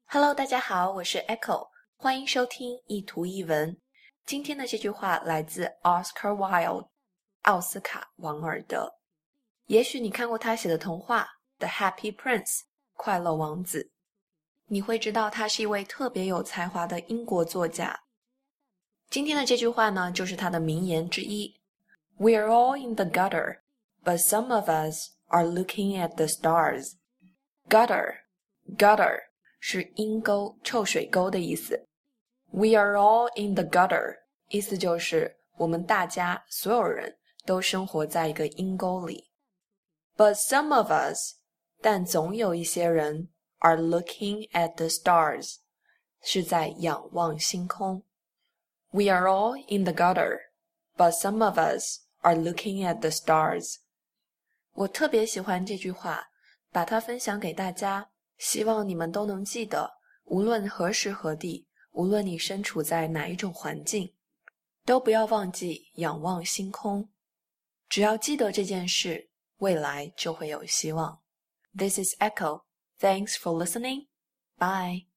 Hello，大家好，我是 Echo， 欢迎收听一图一文。今天的这句话来自 Oscar Wilde， 奥斯卡·王尔德。也许你看过他写的童话《The Happy Prince》快乐王子，你会知道他是一位特别有才华的英国作家。今天的这句话呢，就是他的名言之一 ：We are all in the gutter, but some of us are looking at the stars. Gutter 是阴沟、臭水沟的意思。We are all in the gutter 意思就是我们大家所有人都生活在一个阴沟里。But some of us 但总有一些人 are looking at the stars 是在仰望星空。We are all in the gutter, but some of us are looking at the stars. 我特别喜欢这句话，把它分享给大家，希望你们都能记得，无论何时何地，无论你身处在哪一种环境，都不要忘记仰望星空。只要记得这件事，未来就会有希望。This is Echo. Thanks for listening. Bye.